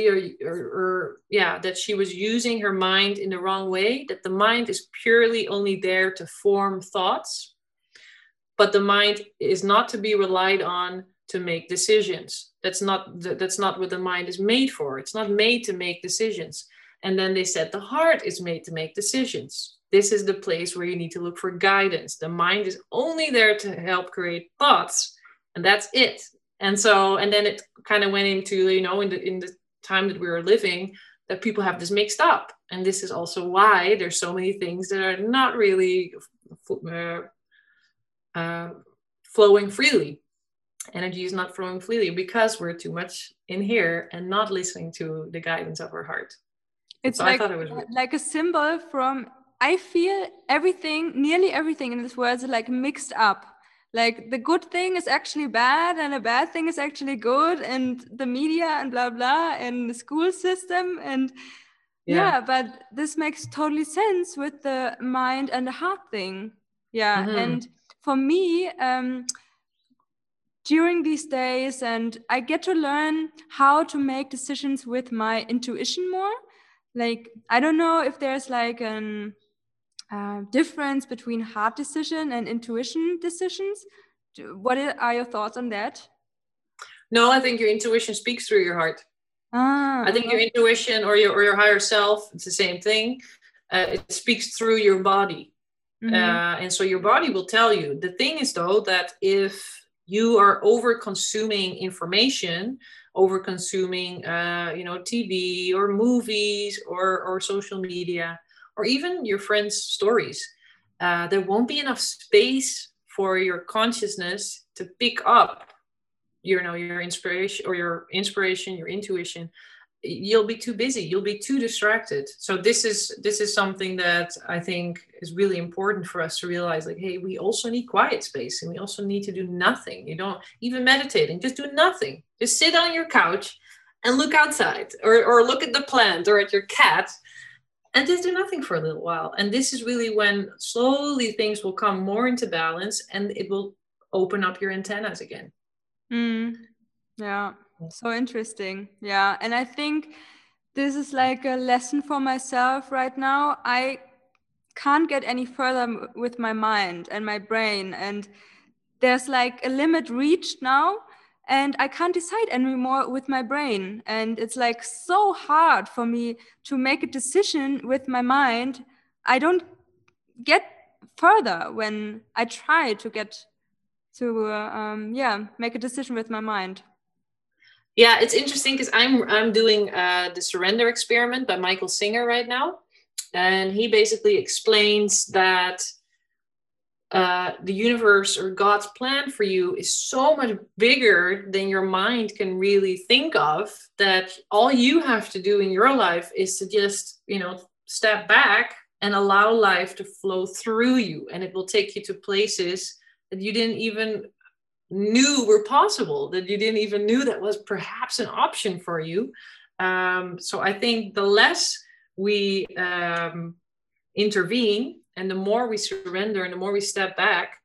that she was using her mind in the wrong way, that the mind is purely only there to form thoughts, but the mind is not to be relied on to make decisions. That's not what the mind is made for. It's not made to make decisions. And then they said the heart is made to make decisions. This is the place where you need to look for guidance. The mind is only there to help create thoughts, and that's it. And then it kind of went into, in the time that we were living, that people have this mixed up. And this is also why there's so many things that are not really flowing freely. Energy is not flowing freely, because we're too much in here and not listening to the guidance of our heart. It's so like a symbol from, I feel nearly everything in this world is like mixed up. Like the good thing is actually bad, and the bad thing is actually good, and the media and blah, blah, and the school system. And but this makes totally sense with the mind and the heart thing. Yeah. Mm-hmm. And for me, during these days, and I get to learn how to make decisions with my intuition more. Like, I don't know if there's like a difference between heart decision and intuition decisions. What are your thoughts on that? No, I think your intuition speaks through your heart. I think your intuition or your higher self, it's the same thing. It speaks through your body. Mm-hmm. And so your body will tell you. The thing is, though, that if you are over consuming information, over consuming TV or movies or social media, or even your friends' stories, there won't be enough space for your consciousness to pick up your inspiration, your intuition, you'll be too busy, you'll be too distracted. So this is something that I think is really important for us to realize, like, hey, we also need quiet space, and we also need to do nothing. You don't even meditating, just do nothing. Just sit on your couch and look outside, or look at the plant or at your cat, and just do nothing for a little while. And this is really when slowly things will come more into balance, and it will open up your antennas again. Yeah, so interesting. Yeah, and I think this is like a lesson for myself right now. I can't get any further with my mind and my brain, and there's like a limit reached now, and I can't decide anymore with my brain. And it's like so hard for me to make a decision with my mind. I don't get further when I try to get to make a decision with my mind. Yeah, it's interesting because I'm doing the Surrender Experiment by Michael Singer right now, and he basically explains that the universe or God's plan for you is so much bigger than your mind can really think of, that all you have to do in your life is to just, step back and allow life to flow through you, and it will take you to places that you didn't even knew were possible, that you didn't even knew that was perhaps an option for you. So I think the less we intervene, and the more we surrender, and the more we step back,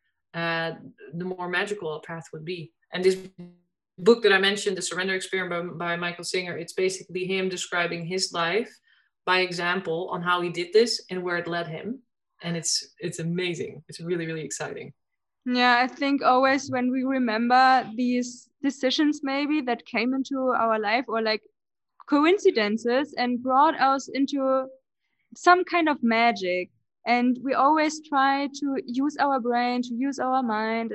the more magical our path would be. And this book that I mentioned, The Surrender Experiment by Michael Singer, it's basically him describing his life by example on how he did this and where it led him. And it's amazing. It's really, really exciting. Yeah, I think always when we remember these decisions maybe that came into our life, or like coincidences, and brought us into some kind of magic, and we always try to use our brain, to use our mind,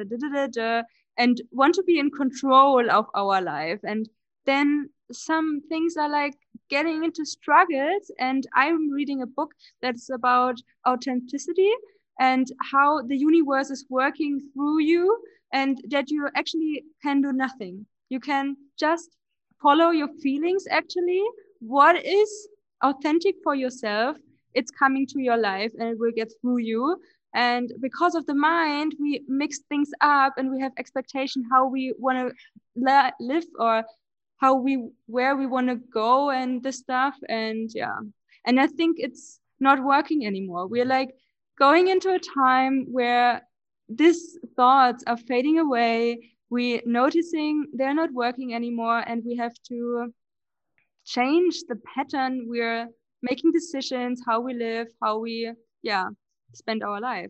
and want to be in control of our life. And then some things are like getting into struggles, and I'm reading a book that's about authenticity and how the universe is working through you, and that you actually can do nothing. You can just follow your feelings, actually. What is authentic for yourself, it's coming to your life, and it will get through you. And because of the mind, we mix things up, and we have expectation how we want to live, or where we want to go, and this stuff. And yeah, and I think it's not working anymore. We're like going into a time where these thoughts are fading away. We noticing they're not working anymore, and we have to change the pattern. We're making decisions, how we live, how we spend our life.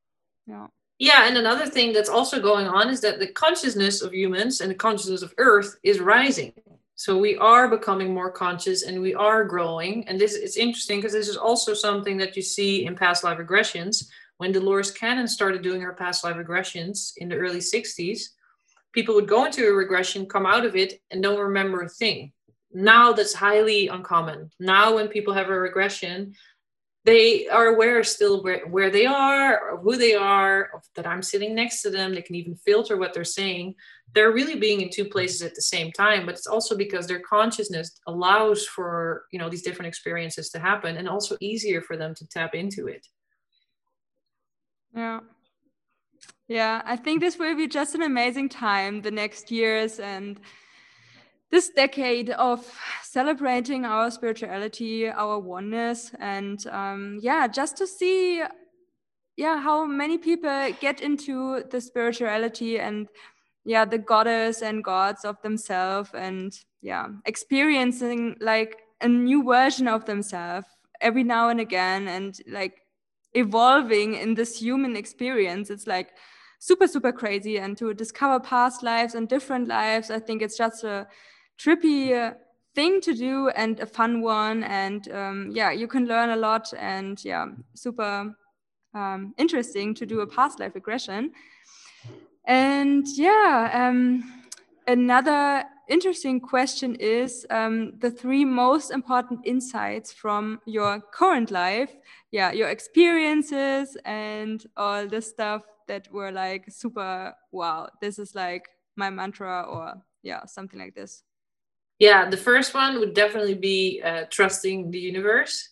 Yeah, and another thing that's also going on is that the consciousness of humans and the consciousness of Earth is rising. So we are becoming more conscious, and we are growing. And this is interesting because this is also something that you see in past life regressions. When Dolores Cannon started doing her past life regressions in the early 60s, people would go into a regression, come out of it, and don't remember a thing. Now that's highly uncommon. Now when people have a regression, they are aware still where they are, or who they are, or that I'm sitting next to them. They can even filter what they're saying. They're really being in two places at the same time, but it's also because their consciousness allows for, these different experiences to happen, and also easier for them to tap into it. Yeah, I think this will be just an amazing time, the next years, and this decade of celebrating our spirituality, our oneness, and just to see how many people get into the spirituality and the goddess and gods of themselves, and experiencing like a new version of themselves every now and again, and like evolving in this human experience. It's like super, super crazy. And to discover past lives and different lives, I think it's just a trippy thing to do, and a fun one. And you can learn a lot, and super interesting to do a past life regression. And another interesting question is the 3 most important insights from your current life, your experiences and all the stuff that were like super, wow, this is like my mantra or something like this? Yeah, the first one would definitely be trusting the universe.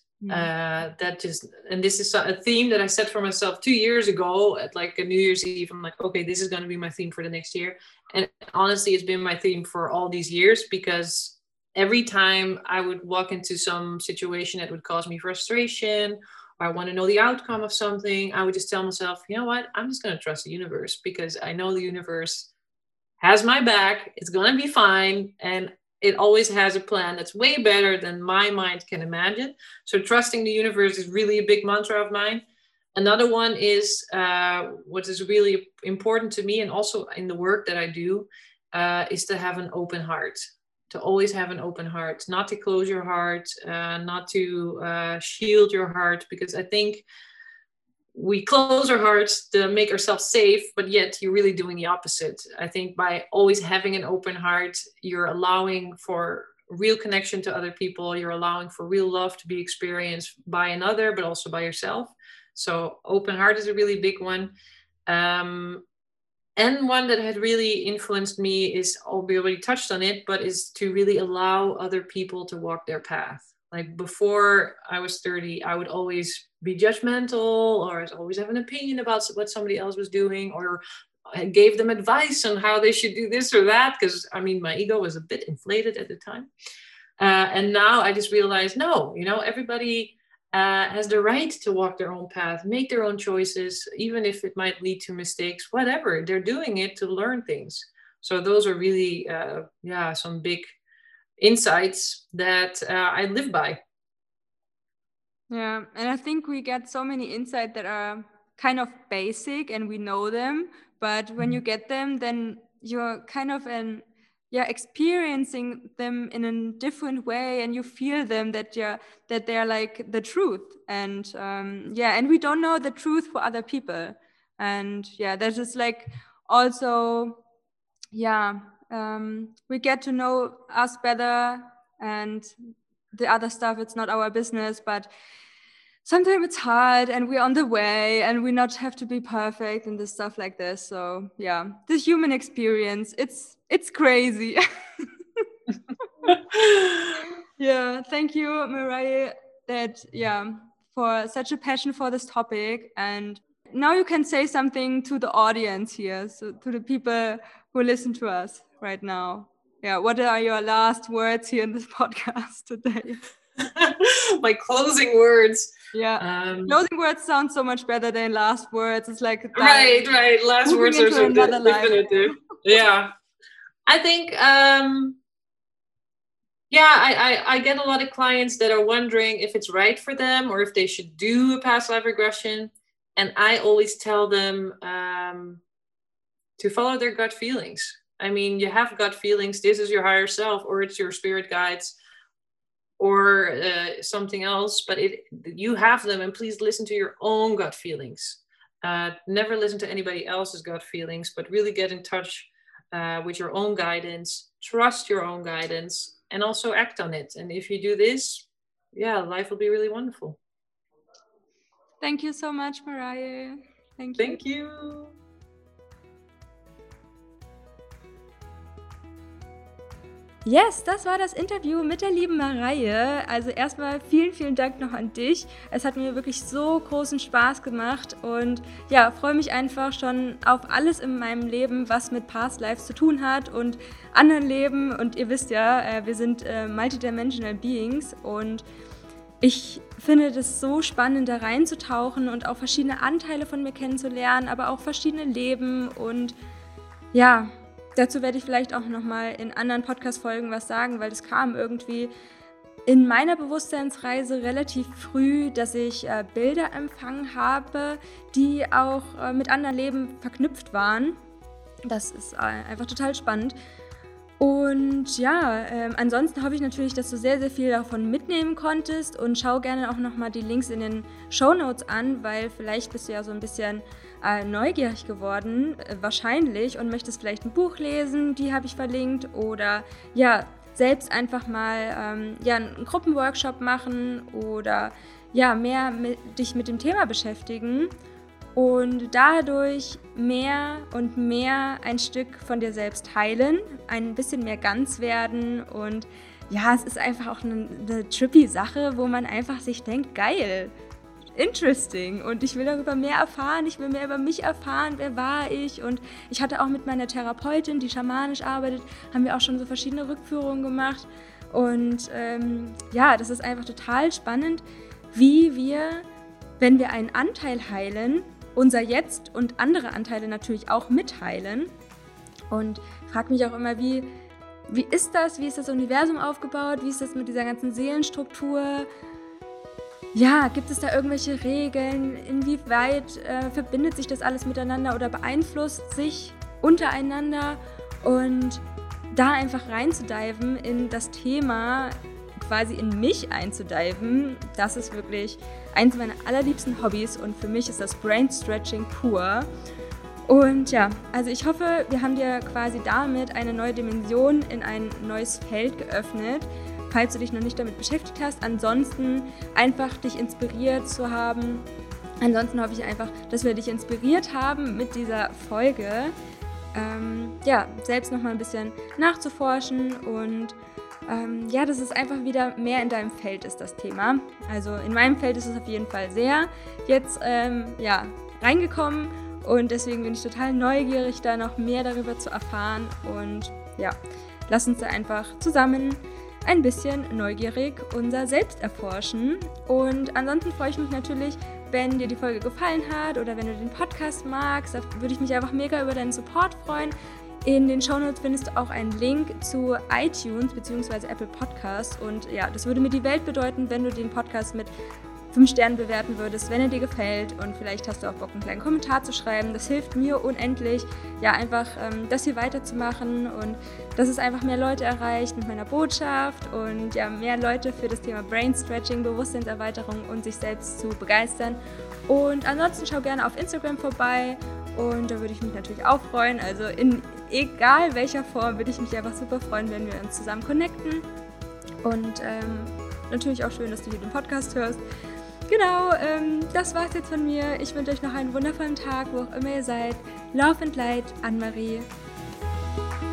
This is a theme that I set for myself 2 years ago at like a New Year's Eve. I'm like, okay, this is going to be my theme for the next year. And honestly, it's been my theme for all these years, because every time I would walk into some situation that would cause me frustration, or I want to know the outcome of something, I would just tell myself, you know what, I'm just going to trust the universe, because I know the universe has my back. It's going to be fine. And it always has a plan that's way better than my mind can imagine. So trusting the universe is really a big mantra of mine. Another one is what is really important to me, and also in the work that I do, is to have an open heart. To always have an open heart, not to close your heart, not to shield your heart, because I think we close our hearts to make ourselves safe, but yet you're really doing the opposite. I think by always having an open heart, you're allowing for real connection to other people. You're allowing for real love to be experienced by another, but also by yourself. So open heart is a really big one. And one that had really influenced me is, we already touched on it, but is to really allow other people to walk their path. Like before I was 30, I would always be judgmental, or always have an opinion about what somebody else was doing, or I gave them advice on how they should do this or that, because I mean, my ego was a bit inflated at the time. And now I just realized, no, everybody has the right to walk their own path, make their own choices, even if it might lead to mistakes, whatever. They're doing it to learn things. So those are really, some big insights that I live by. Yeah, and I think we get so many insights that are kind of basic and we know them, but when you get them, then you're kind of experiencing them in a different way, and you feel them that they're like the truth, and and we don't know the truth for other people, and that is like also we get to know us better, and the other stuff, it's not our business, but sometimes it's hard and we're on the way and we not have to be perfect and this stuff like this. So the human experience, it's crazy. Thank you, Mariah, for such a passion for this topic. And now you can say something to the audience here, so to the people who listen to us right now. What are your last words here in this podcast today? My closing words. Closing words sound so much better than last words. It's like right. Last words are so definitive. I think I get a lot of clients that are wondering if it's right for them or if they should do a past life regression, and I always tell them to follow their gut feelings. I mean, you have gut feelings. This is your higher self, or it's your spirit guides, or something else, but you have them, and please listen to your own gut feelings. Never listen to anybody else's gut feelings, but really get in touch with your own guidance, trust your own guidance, and also act on it. And if you do this, life will be really wonderful. Thank you so much, Mariah. Thank you. Yes, das war das Interview mit der lieben Mariah. Also erstmal vielen, vielen Dank noch an dich. Es hat mir wirklich so großen Spaß gemacht und freue mich einfach schon auf alles in meinem Leben, was mit Past Lives zu tun hat und anderen Leben. Und ihr wisst wir sind multidimensional Beings, und ich finde das so spannend, da reinzutauchen und auch verschiedene Anteile von mir kennenzulernen, aber auch verschiedene Leben. Und dazu werde ich vielleicht auch nochmal in anderen Podcast-Folgen was sagen, weil das kam irgendwie in meiner Bewusstseinsreise relativ früh, dass ich Bilder empfangen habe, die auch mit anderen Leben verknüpft waren. Das ist einfach total spannend. Und ansonsten hoffe ich natürlich, dass du sehr, sehr viel davon mitnehmen konntest, und schau gerne auch nochmal die Links in den Shownotes an, weil vielleicht bist du ja so ein bisschen neugierig geworden, wahrscheinlich, und möchtest vielleicht ein Buch lesen, die habe ich verlinkt, oder selbst einfach mal einen Gruppenworkshop machen oder mehr dich mit dem Thema beschäftigen. und dadurch mehr und mehr ein Stück von dir selbst heilen, ein bisschen mehr ganz werden. Und ja, es ist einfach auch eine trippy Sache, wo man einfach sich denkt, geil, interesting, und ich will darüber mehr erfahren, ich will mehr über mich erfahren, wer war ich. Und ich hatte auch mit meiner Therapeutin, die schamanisch arbeitet, haben wir auch schon so verschiedene Rückführungen gemacht. Und ja, das ist einfach total spannend, wie wir, wenn wir einen Anteil heilen, unser Jetzt und andere Anteile natürlich auch mitheilen. Und frage mich auch immer, wie ist das? Wie ist das Universum aufgebaut? Wie ist das mit dieser ganzen Seelenstruktur? Ja, gibt es da irgendwelche Regeln? Inwieweit verbindet sich das alles miteinander oder beeinflusst sich untereinander? Und da einfach reinzudiven in das Thema, quasi in mich einzudiven, das ist wirklich eins meiner allerliebsten Hobbys, und für mich ist das Brain Stretching pur. Und ja, also ich hoffe, wir haben dir quasi damit eine neue Dimension in ein neues Feld geöffnet, falls du dich noch nicht damit beschäftigt hast. Ansonsten einfach dich inspiriert zu haben. Ansonsten hoffe ich einfach, dass wir dich inspiriert haben mit dieser Folge, ja, selbst nochmal ein bisschen nachzuforschen und ja, dass es einfach wieder mehr in deinem Feld ist, das Thema. Also in meinem Feld ist es auf jeden Fall sehr jetzt ja, reingekommen, und deswegen bin ich total neugierig, da noch mehr darüber zu erfahren. Und ja, lass uns da einfach zusammen ein bisschen neugierig unser Selbst erforschen. Und ansonsten freue ich mich natürlich, wenn dir die Folge gefallen hat oder wenn du den Podcast magst. Da würde ich mich einfach mega über deinen Support freuen. In den Shownotes findest du auch einen Link zu iTunes bzw. Apple Podcasts. Und ja, das würde mir die Welt bedeuten, wenn du den Podcast mit 5 Sternen bewerten würdest, wenn er dir gefällt, und vielleicht hast du auch Bock, einen kleinen Kommentar zu schreiben. Das hilft mir unendlich, ja, einfach das hier weiterzumachen und dass es einfach mehr Leute erreicht mit meiner Botschaft und ja, mehr Leute für das Thema Brain Stretching, Bewusstseinserweiterung und sich selbst zu begeistern. Und ansonsten schau gerne auf Instagram vorbei, und da würde ich mich natürlich auch freuen. Also in egal welcher Form würde ich mich einfach super freuen, wenn wir uns zusammen connecten. Und natürlich auch schön, dass du hier den Podcast hörst. Genau, das war's jetzt von mir. Ich wünsche euch noch einen wundervollen Tag, wo auch immer ihr seid. Love and Light, Anne-Marie.